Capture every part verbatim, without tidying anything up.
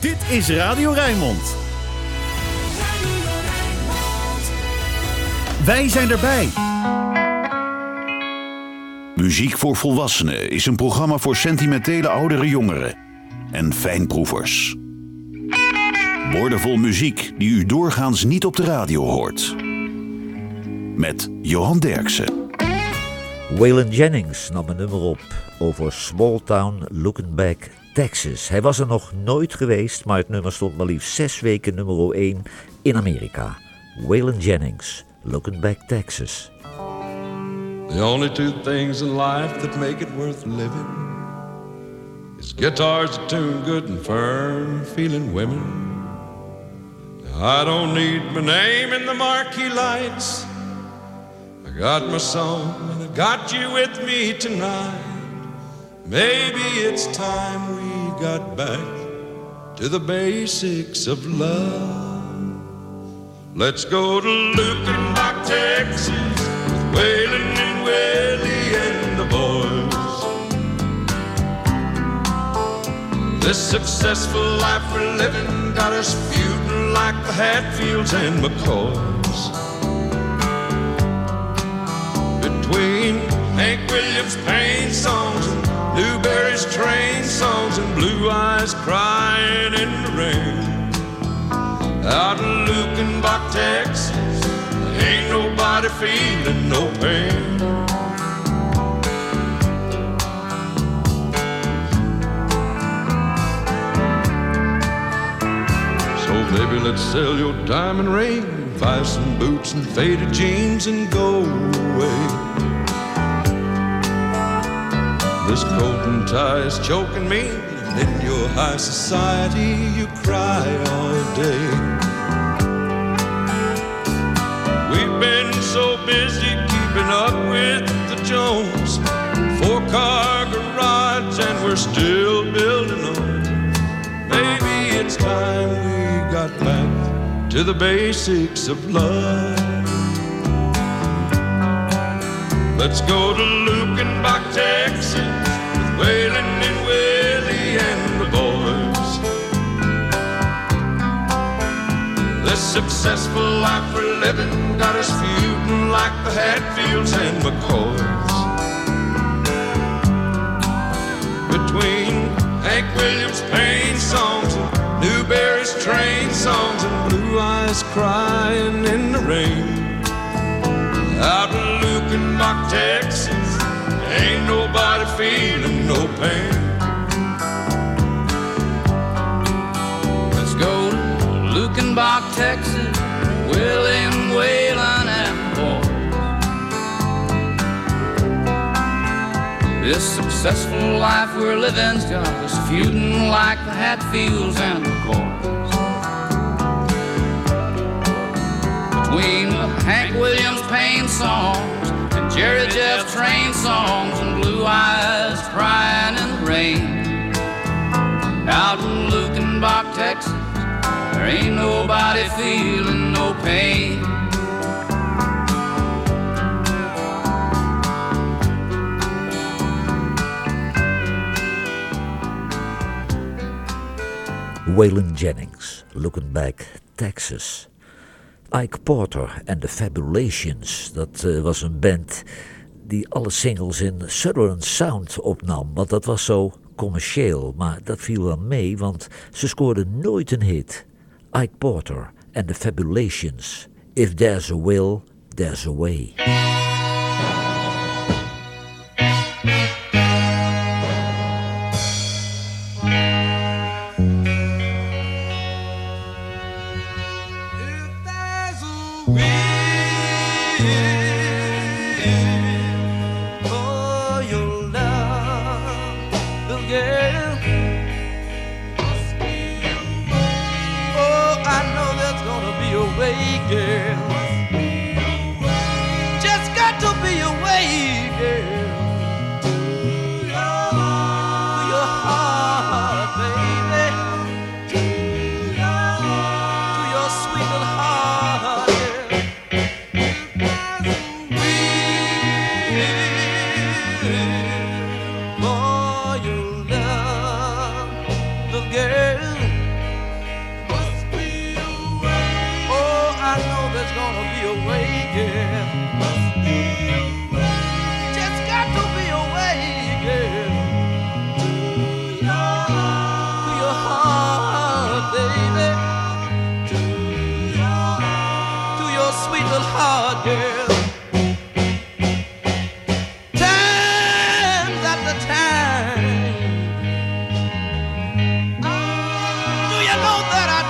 Dit is Radio Rijnmond. Wij zijn erbij. Muziek voor Volwassenen is een programma voor sentimentele oudere jongeren en fijnproevers. Woordenvol muziek die u doorgaans niet op de radio hoort. Met Johan Derksen. Waylon Jennings nam een nummer op over Small Town Looking Back, Texas. Hij was er nog nooit geweest, maar het nummer stond maar liefst zes weken nummer één in Amerika. Waylon Jennings, Looking Back, Texas. The only two things in life that make it worth living is guitars that tune good and firm, feeling women. I don't need my name in the marquee lights. I got my song and I got you with me tonight. Maybe it's time we got back to the basics of love. Let's go to Lukenbach, Texas, with Waylon and Willie and the boys. This successful life we're living got us feuding like the Hatfields and McCoys. Between Hank Williams' pain songs and Newberry's train songs and Blue Eyes crying in the rain. Out in Lukenbach, Texas, ain't nobody feeling no pain. So baby, let's sell your diamond ring, buy some boots and faded jeans and go away. This coat and tie is choking me, and in your high society you cry all day. We've been so busy keeping up with the Jones, four-car garage and we're still building on. Maybe it's time we got back to the basics of love. Let's go to Lukenbach, Texas, with Waylon and Willie and the boys. This successful life we're living got us feuding like the Hatfields and McCoys. Between Hank Williams' pain songs and Newberry's train songs and Blue Eyes crying in the rain. Out in Lukenbach, Texas, ain't nobody feeling no pain. Let's go to Lukenbach, Texas, Willie and Waylon and boys. This successful life we're living's got us feuding like the Hatfields and the McCoys. Between the Hank Williams pain songs and Jerry Jeff train songs and Blue Eyes crying in the rain. Out in Lukenbach, Texas, there ain't nobody feeling no pain. Waylon Jennings, Looking Back, Texas. Ike Porter en The Fabulations, dat uh, was een band die alle singles in Southern Sound opnam, want dat was zo commercieel, maar dat viel wel mee, want ze scoorden nooit een hit. Ike Porter en The Fabulations, If There's a Will, There's a Way.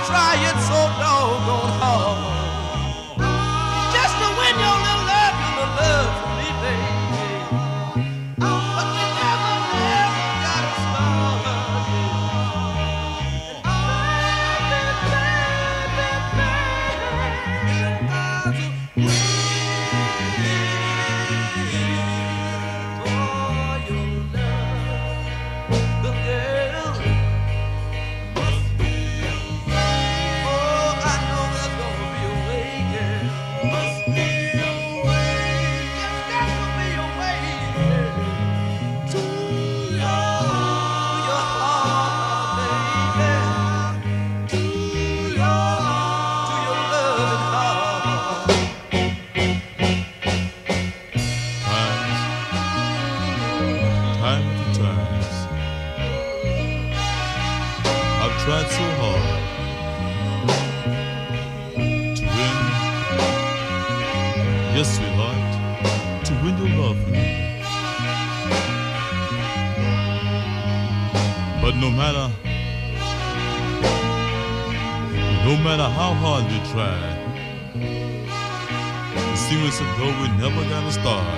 trying so doggone hard just to win your little love, your little love for me, baby. But we never, never got a start. Tried so hard to win, yes, sweetheart, to win your love for me. But no matter, no matter how hard we tried, it seems as though we never got a start.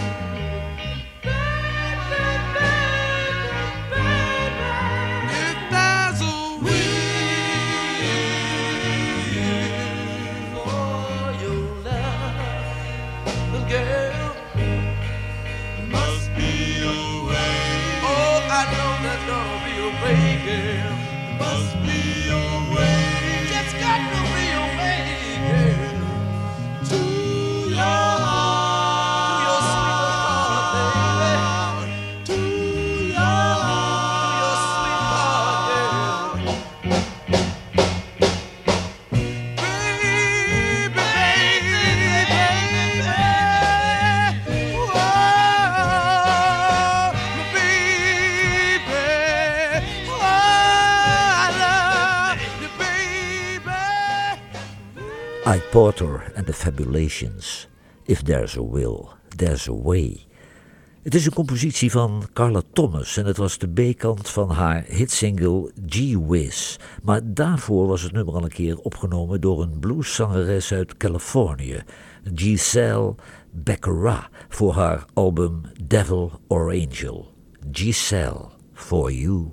Ike Porter and the Fabulations. If There's a Will, There's a Way. Het is een compositie van Carla Thomas en het was de B-kant van haar hitsingle Gee Whiz. Maar daarvoor was het nummer al een keer opgenomen door een blueszangeres uit Californië, Giselle Baccarat, voor haar album Devil or Angel. Giselle, For You.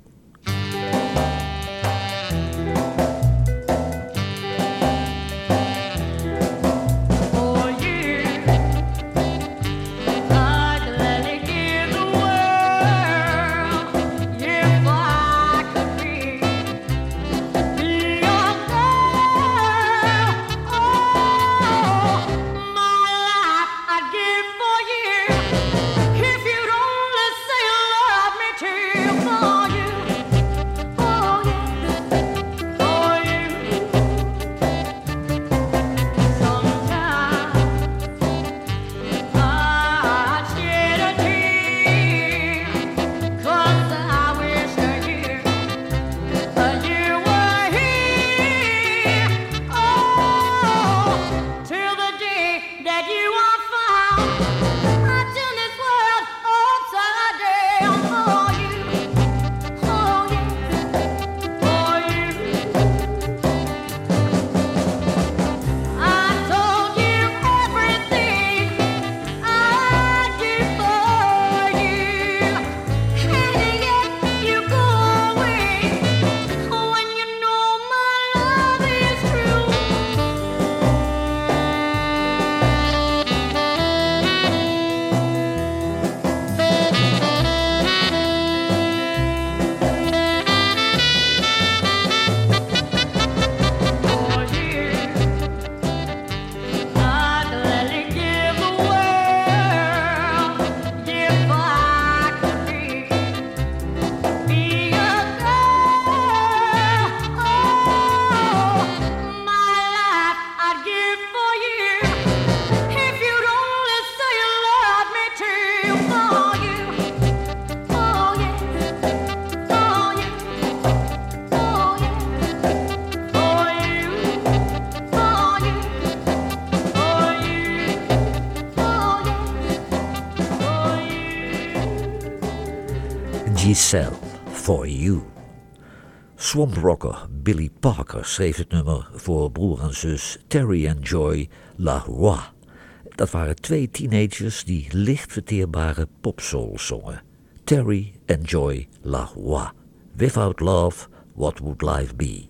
Giselle, For You. Swamp rocker Billy Parker schreef het nummer voor broer en zus Terry en Joy LaRoi. Dat waren twee teenagers die licht verteerbare popsoul zongen. Terry en Joy LaRoi. Without love, what would life be?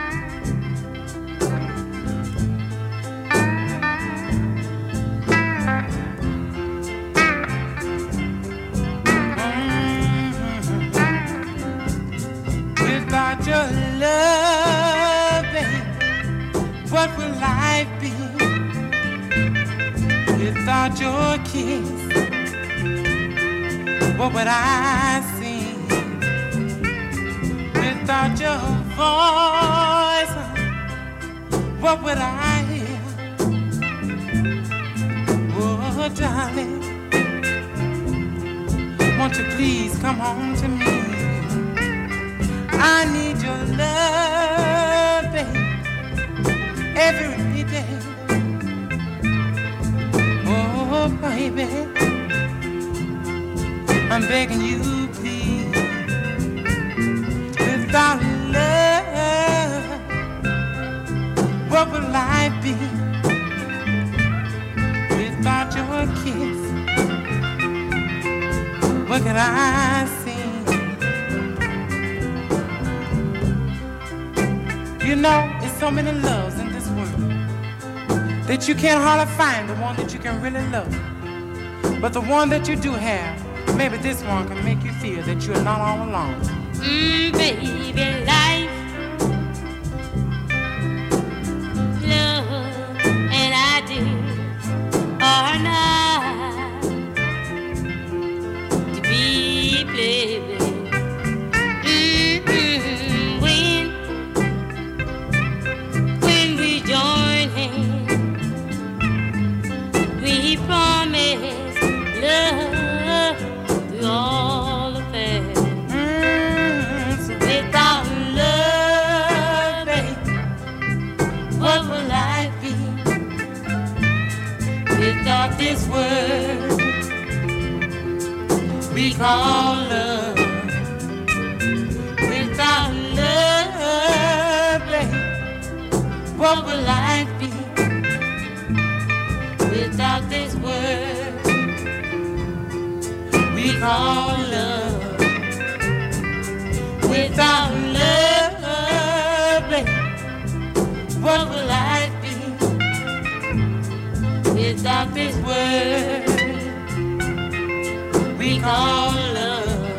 Without your love, babe, what will life be? Without your kiss, what would I see? Without your voice, what would I hear? Oh, darling, won't you please come home to me? I need your love, babe, every day. Oh, baby, I'm begging you, please. Without love, what will life be? Without your kiss, what can I see? You know, there's so many loves in this world that you can't hardly find the one that you can really love. But the one that you do have, maybe this one can make you feel that you're not all alone. Mm, baby, life, love, and I do are not to be played with. Mm-hmm. When, when we join hands, we promise love through all the past. Mm, so without love, babe, what will life be? Without this word we call love. Without love, babe, what will life be? Without this word we call love. Without love, babe, what will life be? Without this word we call love.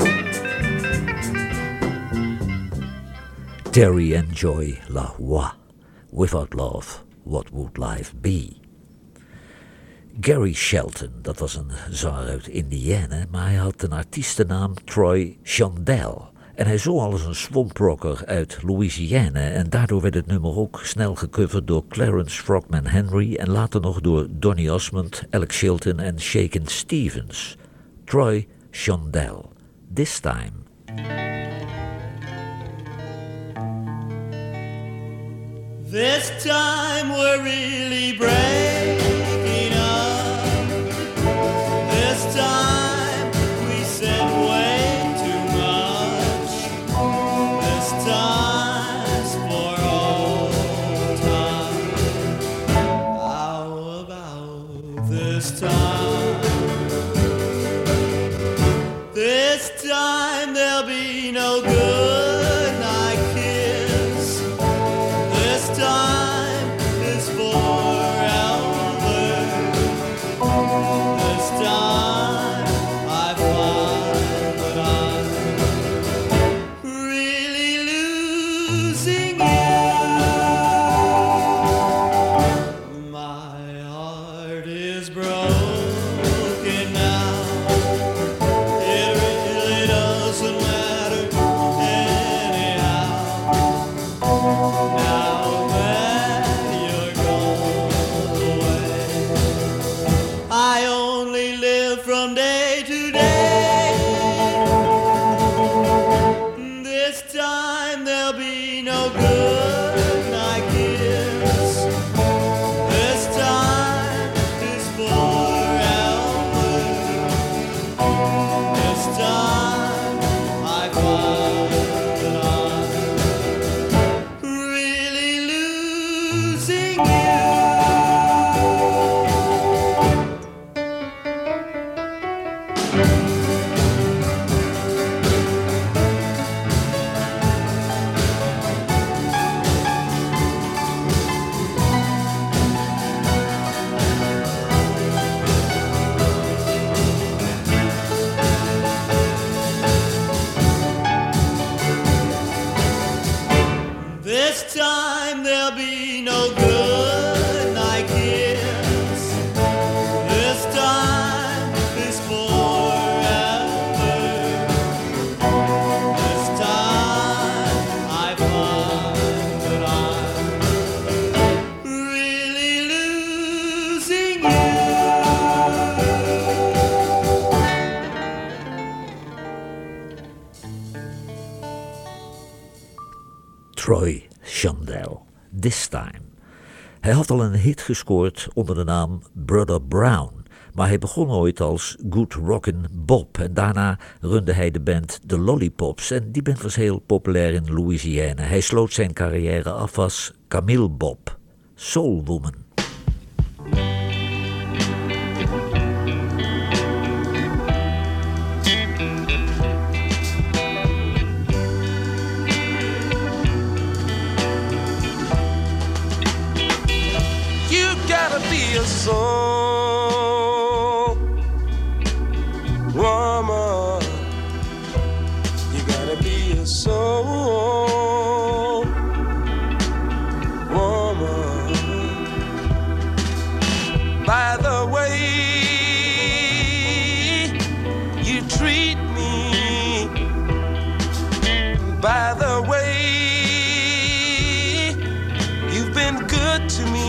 Terry and Joy LaRoi. Without love, what would life be? Gary Shelton, dat was een zanger uit Indiana, maar hij had een artiestennaam Troy Chandel. En hij zong al eens een swamp rocker uit Louisiana en daardoor werd het nummer ook snel gecoverd door Clarence Frogman Henry en later nog door Donny Osmond, Alex Chilton en Shakin' Stevens. Troy Chandel, This Time. This time we're really breaking up. This time we said way too much. This time's for old time. How about this time? This time there'll be no good night kiss. This time is for time there'll be no good night kiss. This time is forever. This time I find that I'm really losing you. Troy Shondell, This Time. Hij had al een hit gescoord onder de naam Brother Brown, maar hij begon ooit als Good Rockin' Bob en daarna runde hij de band The Lollipops en die band was heel populair in Louisiana. Hij sloot zijn carrière af als Camille Bob, Soul Woman. Be a soul woman. You gotta be a soul woman. By the way you treat me, by the way you've been good to me.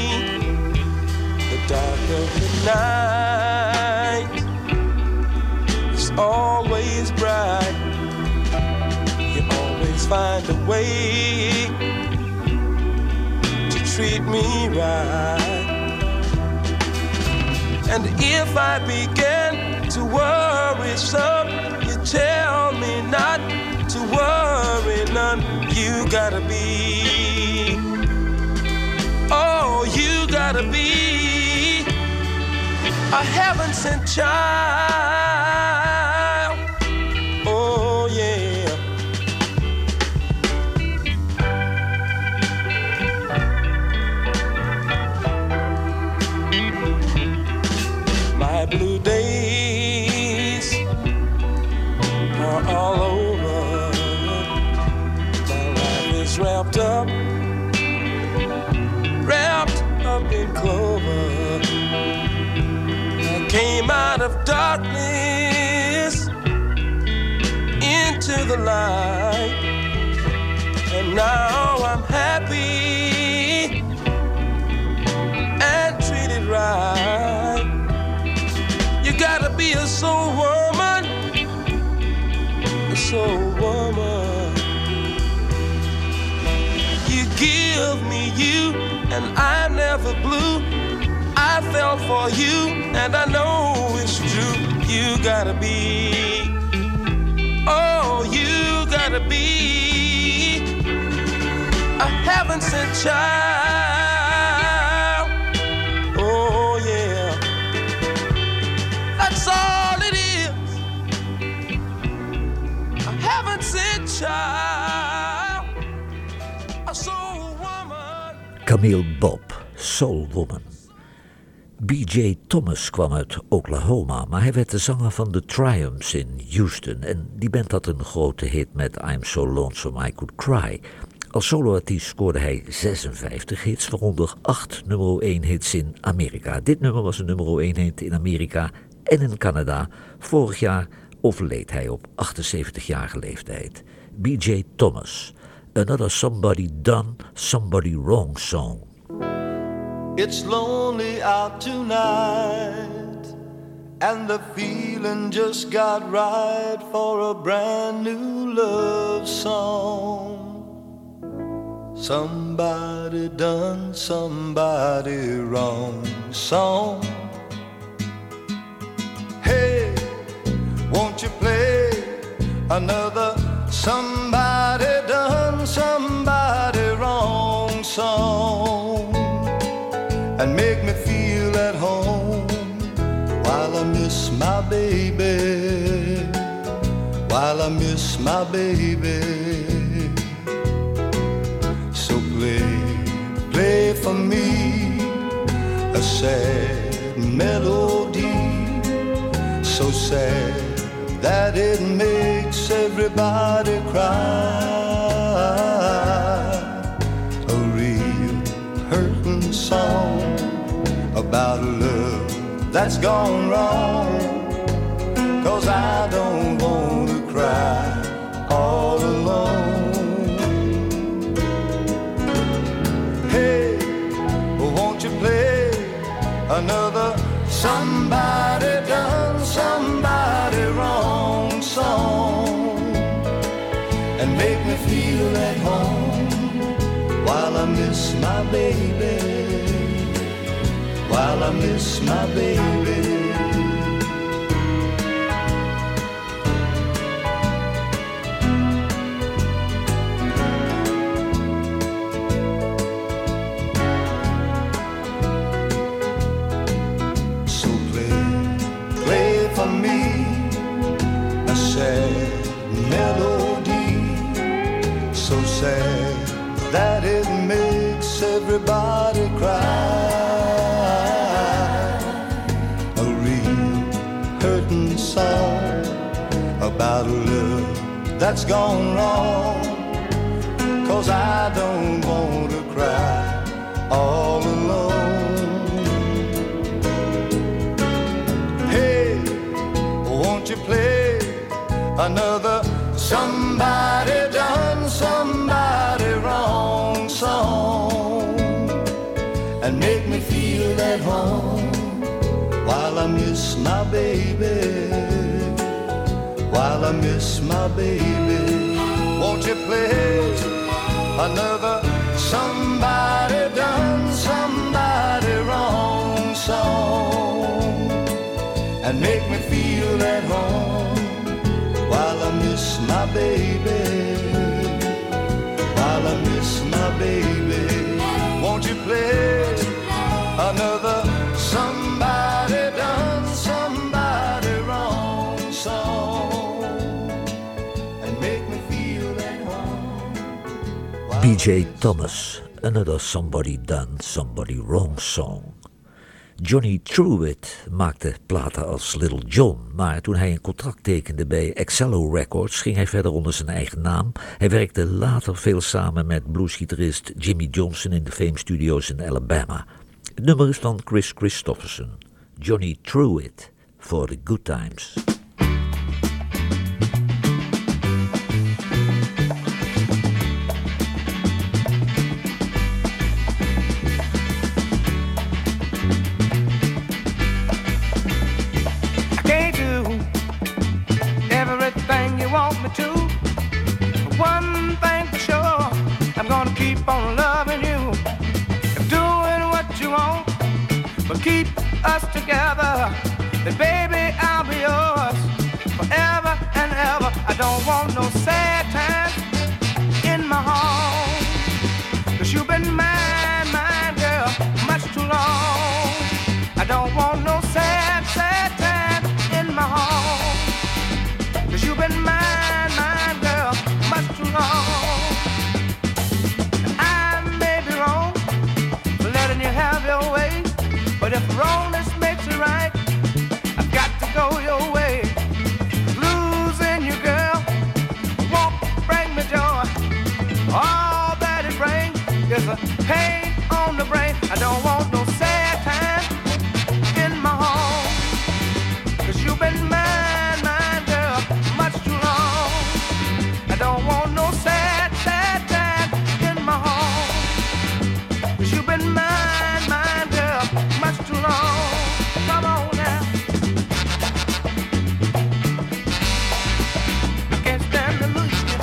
Dark of the night is always bright. You always find a way to treat me right. And if I begin to worry some, you tell me not to worry none. You gotta be, oh, you gotta be a heaven-sent child. Oh, yeah. My blue days are all over. My life is wrapped up, wrapped up in clover. Came out of darkness into the light, and now I'm happy and treated right. You gotta be a soul woman, a soul woman. You give me you, and I'm never blue. I fell for you, and I know it's true. You gotta be, oh, you gotta be a heaven-sent child. Oh, yeah. That's all it is. A heaven-sent child. A soul woman. Camille Bob, Soul Woman. B J Thomas kwam uit Oklahoma, maar hij werd de zanger van The Triumphs in Houston. En die band had een grote hit met I'm So Lonesome I Could Cry. Als soloartiest scoorde hij zesenvijftig hits, waaronder acht nummer één hits in Amerika. Dit nummer was een nummer één hit in Amerika en in Canada. Vorig jaar overleed hij op achtenzeventigjarige leeftijd. B J Thomas, Another Somebody Done Somebody Wrong song. It's lonely out tonight, and the feeling just got right for a brand new love song. Somebody done somebody wrong song. Hey, won't you play another somebody done somebody wrong song? And make me feel at home while I miss my baby, while I miss my baby. So play, play for me a sad melody, so sad that it makes everybody cry. about a love that's gone wrong. 'Cause I don't want to cry all alone. Hey, won't you play another somebody done somebody wrong song and make me feel at home while I miss my baby, while I miss my baby. Melody so sad that it makes everybody cry. A real hurting song about a love that's gone wrong. 'Cause I don't want to cry all alone. Hey, won't you play another somebody done somebody wrong song and make me feel at home while I miss my baby, while I miss my baby. Won't you play another somebody done somebody wrong song and make me feel at home while I miss my baby, while I miss my baby. Won't you play another somebody done somebody wrong song and make me feel at home. B J Thomas, Another Somebody Done Somebody Wrong Song. Johnny Truitt maakte platen als Little John, maar toen hij een contract tekende bij Excello Records ging hij verder onder zijn eigen naam. Hij werkte later veel samen met bluesgitarist Jimmy Johnson in de Fame Studios in Alabama. Het nummer is van Chris Christopherson, Johnny Truitt, For the Good Times. Keep on loving you and doing what you want, but keep us together. Then baby, I'll be yours forever and ever. I don't want no sad times in my home, 'cause you've been mine, mine girl, much too long. I don't want no sad, sad times in my home, 'cause you've been mine, mine girl, much too long. But if wrongness makes it right, I've got to go your way. Losing you, girl, won't bring me joy. All that it brings is a pain on the brain. I don't want no sad time in my home, 'cause you've been mine, mine, girl, much too long. I don't want no sad, sad time in my home, 'cause you've been mine, mine, girl, much too long. Come on now. I can't stand to lose you.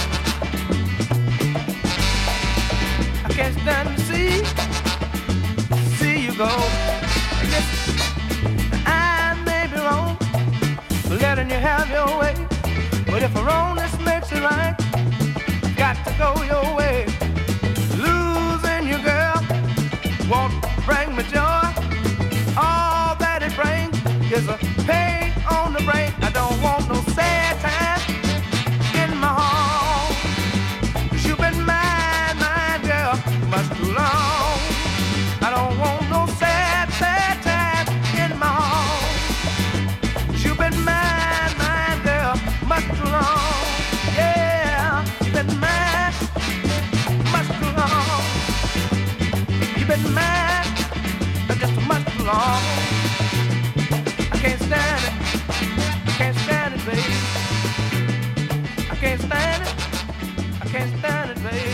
I can't stand to see, see you go. Listen, I may be wrong for letting you have your way, but if wrongness makes it right, got to go your way. Losing you, girl, won't bring me joy. All that it brings is a pain on the brain. I don't want no sad time in my home, 'cause you've been mine, mine, girl, much too long. I don't want no sad, sad time in my home, 'cause you've been mine, mine, girl, much too long. Yeah, you've been mine, much too long. You've been mine, just much too long. long. I can't stand it. I can't stand it, baby. I can't stand it. I can't stand it, baby.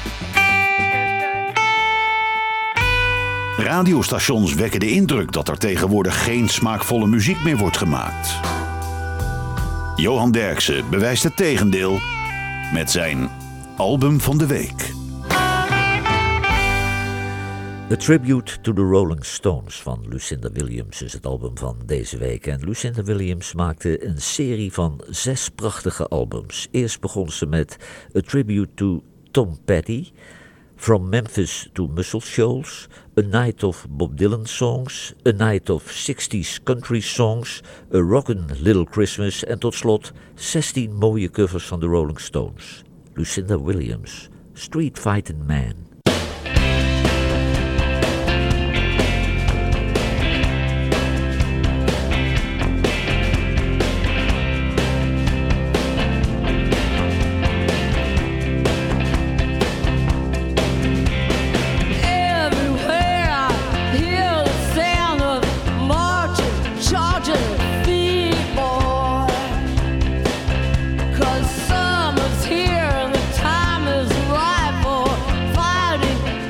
Radiostations wekken de indruk dat er tegenwoordig geen smaakvolle muziek meer wordt gemaakt. Johan Derksen bewijst het tegendeel met zijn album van de week. A Tribute to the Rolling Stones van Lucinda Williams is het album van deze week. En Lucinda Williams maakte een serie van zes prachtige albums. Eerst begon ze met A Tribute to Tom Petty, From Memphis to Muscle Shoals, A Night of Bob Dylan Songs, A Night of sixties Country Songs, A Rockin' Little Christmas en tot slot zestien mooie covers van de Rolling Stones. Lucinda Williams, Street Fightin' Man. Summer's here and the time is right for fighting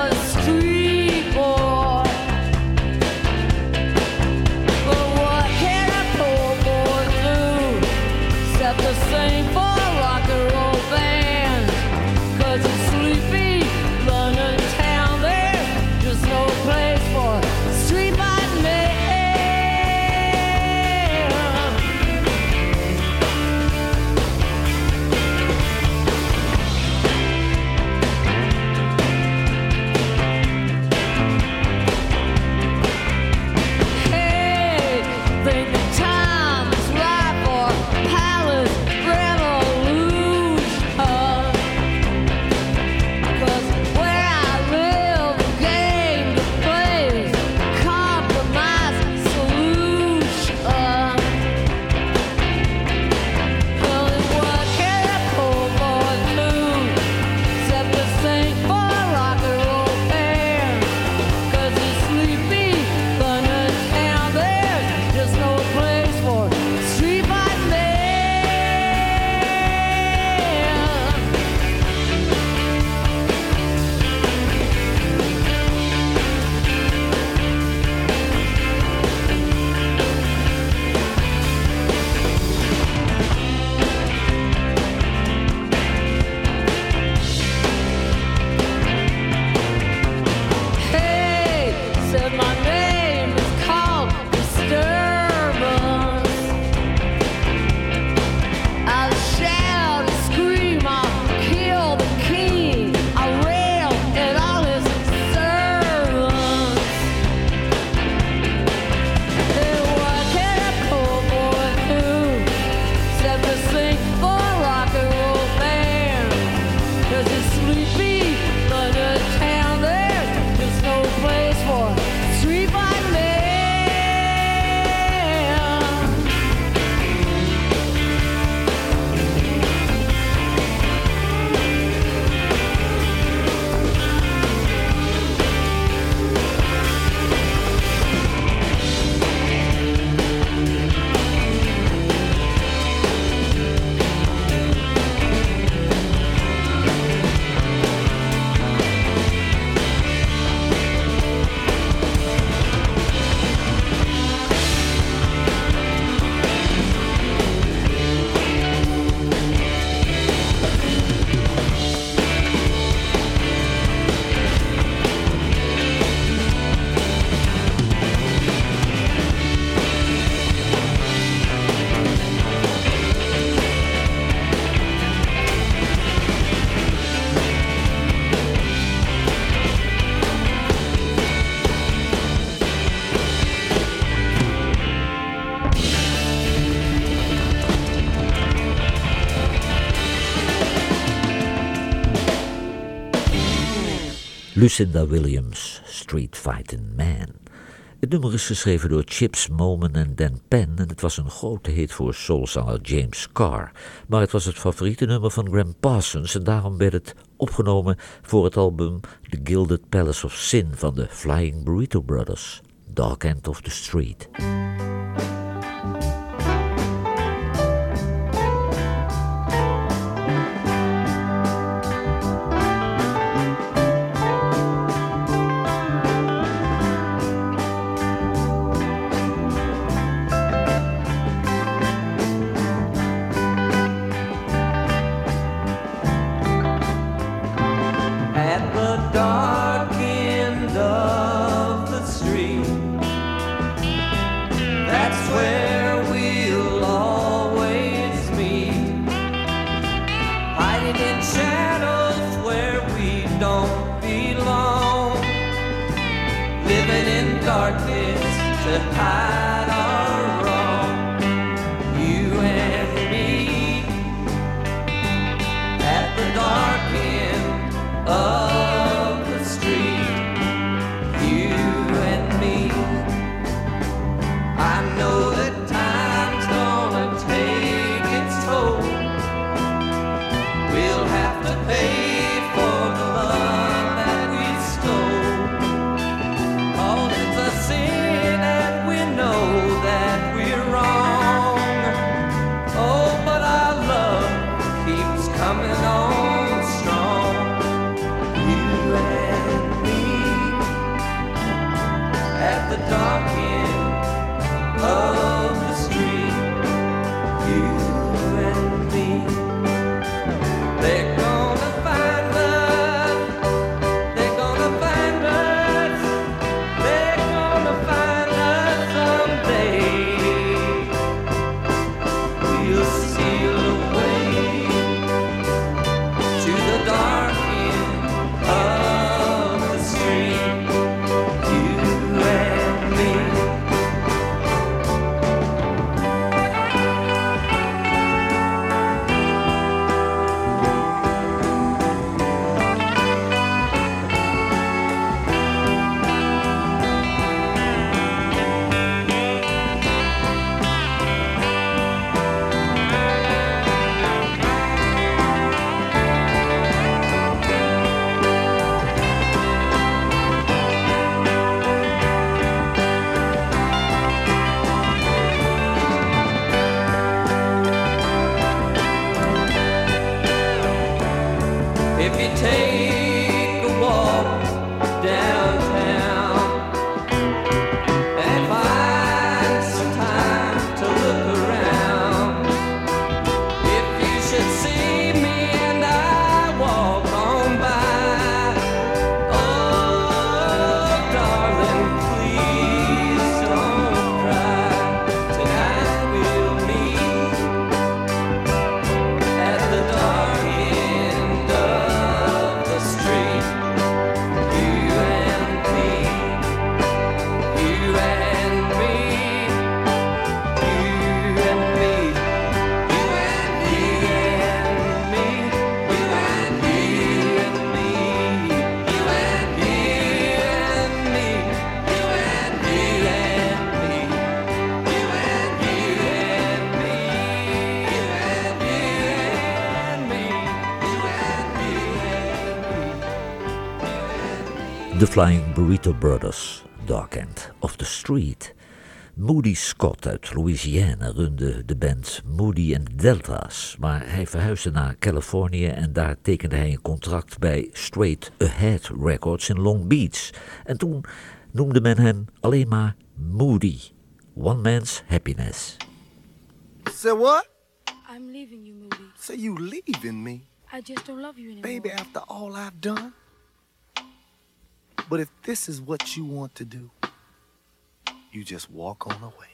Lucinda Williams, Street Fightin' Man. Het nummer is geschreven door Chips Moman en Dan Penn en het was een grote hit voor soulzanger James Carr. Maar het was het favoriete nummer van Gram Parsons en daarom werd het opgenomen voor het album The Gilded Palace of Sin van de Flying Burrito Brothers. Dark End of the Street. The Flying Burrito Brothers, Dark End of the Street. Moody Scott uit Louisiana runde de band Moody and the Deltas, maar hij verhuisde naar Californië en daar tekende hij een contract bij Straight Ahead Records in Long Beach. En toen noemde men hem alleen maar Moody, One Man's Happiness. Say what? I'm leaving you, Moody. Say you leaving me? I just don't love you anymore. Baby, after all I've done? But if this is what you want to do, you just walk on away.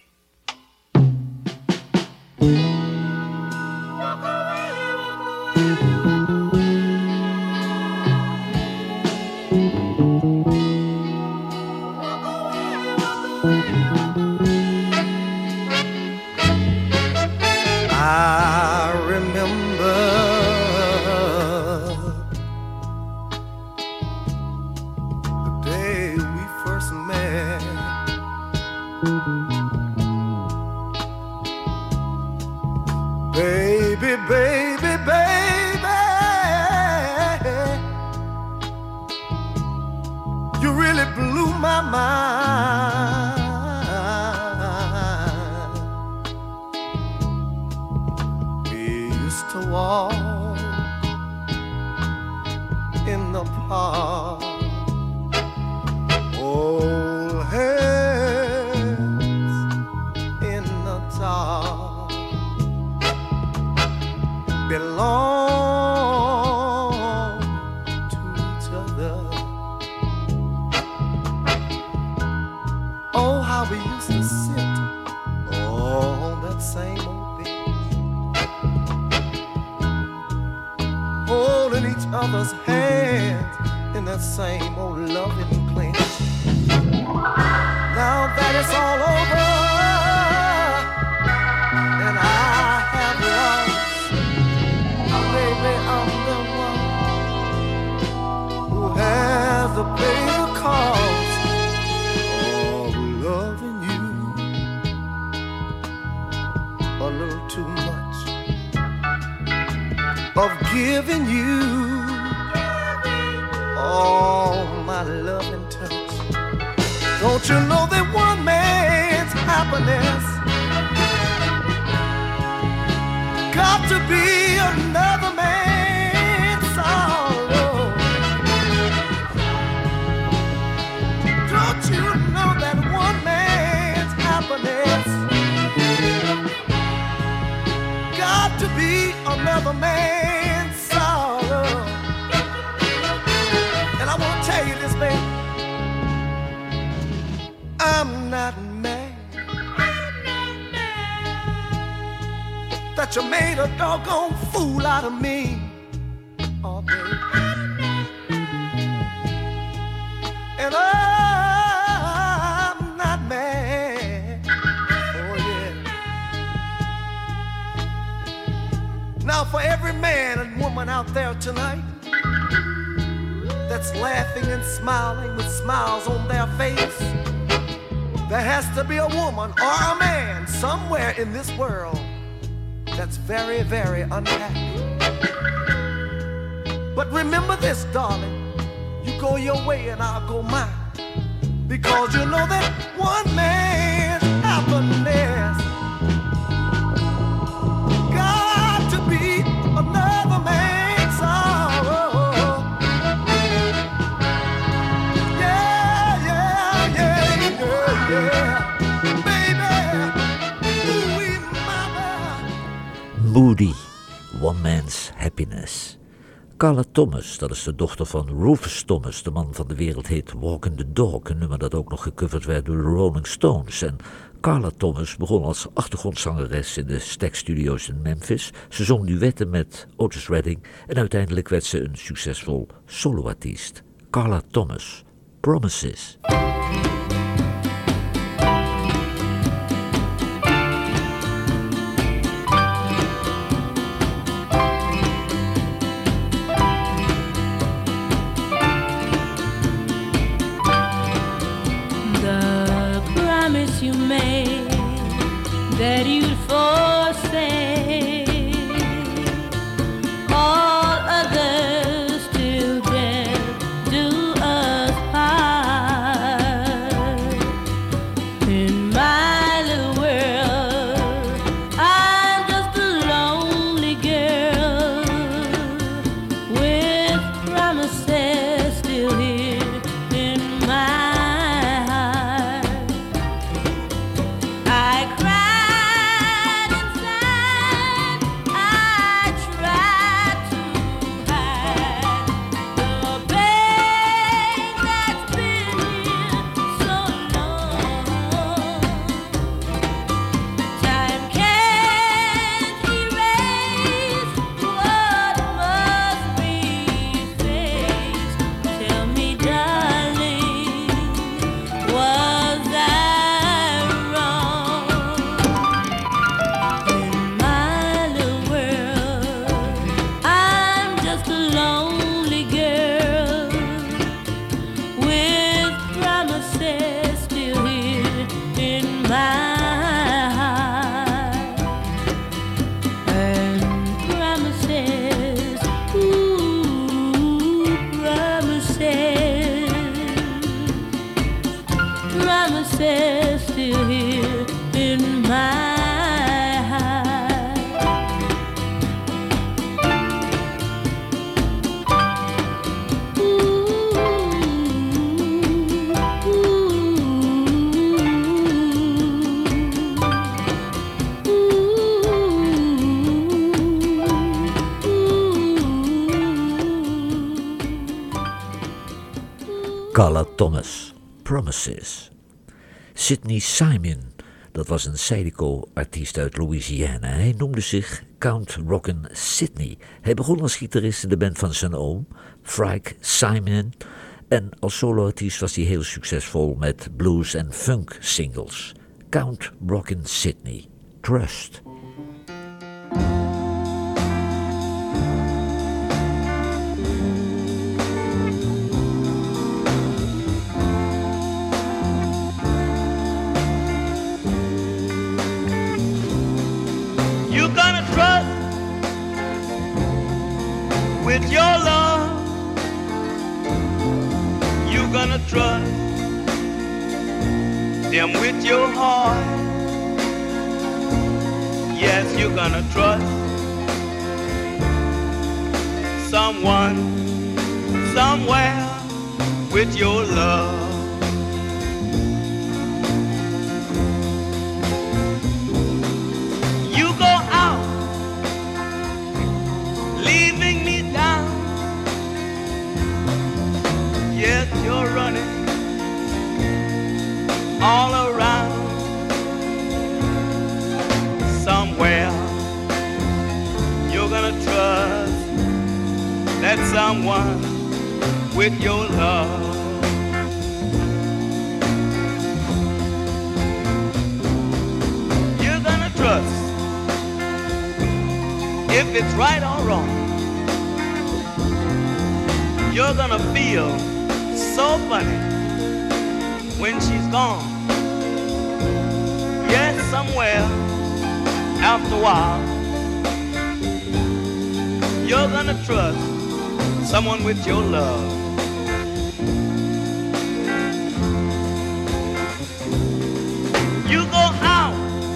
I remember the day we first met. Baby, baby, baby, you really blew my mind. mother's hands in that same old loving clench. Now that it's all over and I have lost, baby, I'm the one who has to pay the cost of loving you a little too much, of giving you all my loving touch. Don't you know that one man's happiness got to be another man's sorrow? Don't you know that one man's happiness got to be another man's sorrow? And I want to tell you this, baby, I'm not mad, I'm not mad that you made a doggone fool out of me. Oh, baby. And I'm not mad. Oh, yeah. Now, for every man and woman out there tonight that's laughing and smiling with smiles on their face, there has to be a woman or a man somewhere in this world that's very, very unhappy. But remember this, darling, you go your way and I'll go mine, because you know that one man's happiness got to be another man's sorrow. Yeah, yeah, yeah, yeah, yeah. Moody, One Man's Happiness. Carla Thomas, dat is de dochter van Rufus Thomas, de man van de wereldhit Walking the Dog, een nummer dat ook nog gecoverd werd door de Rolling Stones. En Carla Thomas begon als achtergrondzangeres in de Stax Studios in Memphis. Ze zong duetten met Otis Redding en uiteindelijk werd ze een succesvol soloartiest. Carla Thomas, Promises. You made that you'd forsake all others till death do us part. In my little world, I'm just a lonely girl with promises still here in my still here in my Carla Thomas, Promises. Sidney Simon, dat was een Zydeco-artiest uit Louisiana. Hij noemde zich Count Rockin' Sidney. Hij begon als gitarist in de band van zijn oom, Frike Simon. En als soloartiest was hij heel succesvol met blues- en funk-singles. Count Rockin' Sidney, Trust. You gonna trust with your love. You gonna trust them with your heart. Yes, you're gonna trust someone somewhere with your love. You go out leaving me down. Yes, you're running all around. Somewhere you're gonna trust that someone with your love. You're gonna trust if it's right or wrong. You're gonna feel so funny when she's gone. Yes, somewhere after a while you're gonna trust someone with your love. You go out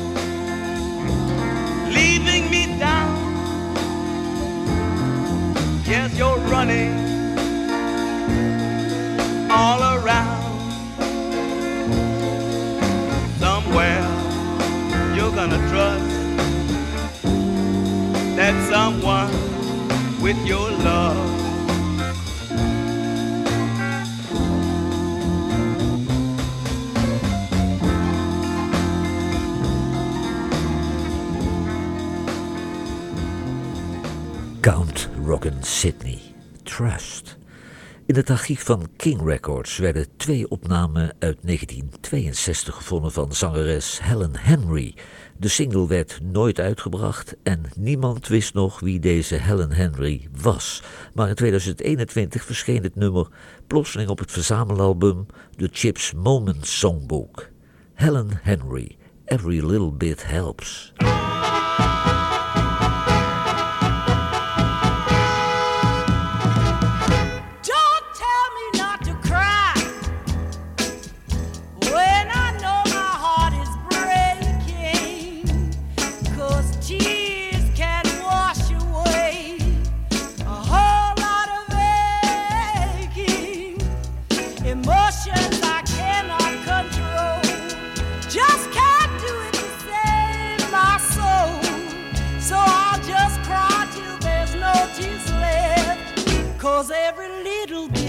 leaving me down. Yes, you're running all around. Somewhere you're gonna trust that someone with your love. Count Rockin' Sidney, Trust. In het archief van King Records werden twee opnamen uit negentien tweeënzestig gevonden van zangeres Helen Henry. De single werd nooit uitgebracht en niemand wist nog wie deze Helen Henry was. Maar in tweeduizend eenentwintig verscheen het nummer plotseling op het verzamelalbum The Chips Moment Songbook. Helen Henry, Every Little Bit Helps. Emotions I cannot control. Just can't do it to save my soul. So I'll just cry till there's no tears left. 'Cause every little bit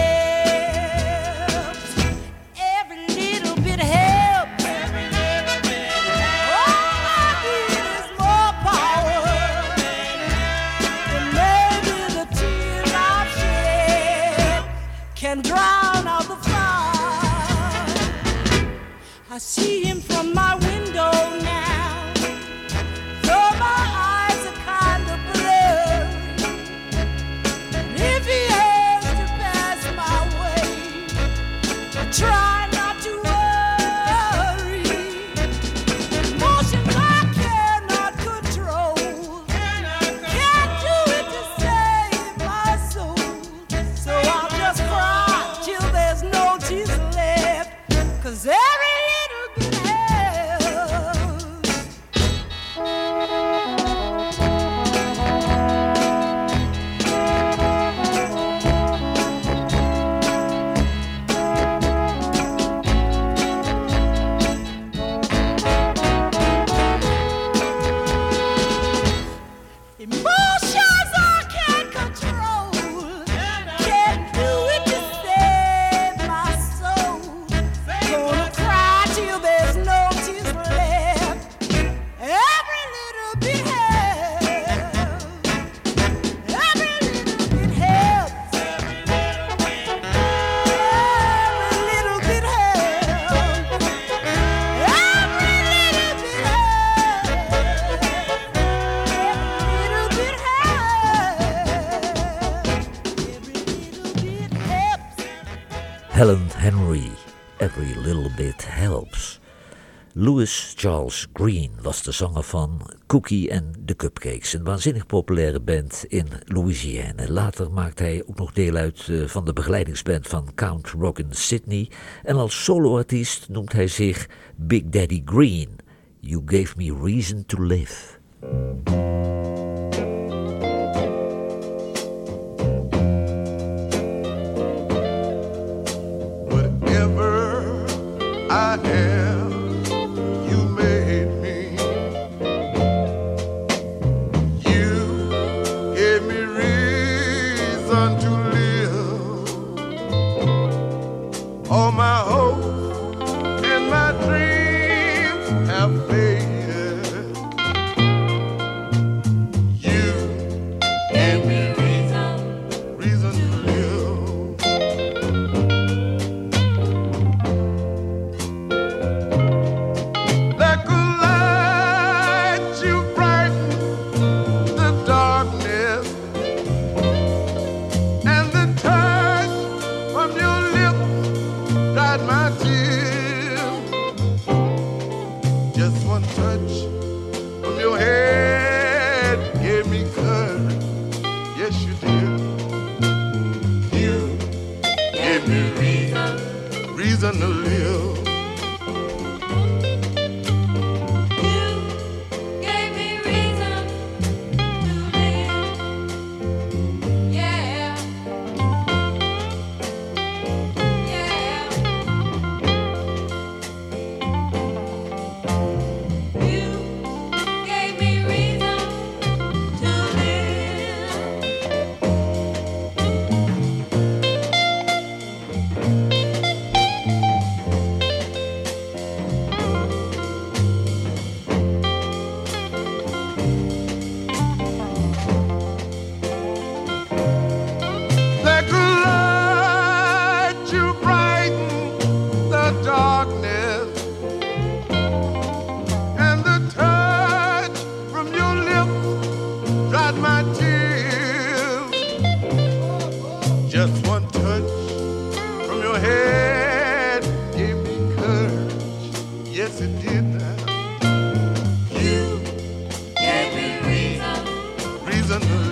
helps. Every little bit helps. Every little bit helps. All I need is more power. And maybe the tears I've shed can drown out the fire. I see him from my window now, though my eyes are kind of blurry. And if he has to pass my way, I try not to worry. Emotions I cannot control. Can't do it to save my soul. So I'll just cry till there's no tears left. 'Cause every little bit helps. Helen Henry, Every Little Bit Helps. Louis Charles Green was de zanger van Cookie and the Cupcakes, een waanzinnig populaire band in Louisiana. Later maakte hij ook nog deel uit uh, van de begeleidingsband van Count Rockin' Sidney. En als soloartiest noemt hij zich Big Daddy Green. You Gave Me Reason to Live. I am, you made me. You gave me reason to live. All my hopes and my dreams have faded. You gave me reason, reason to live. Reason to live. You gave me reason to live. Yeah. Yeah. You gave me reason to live. Just one touch from your head gave me courage. Yes, it did now. You Gave me reason, reason to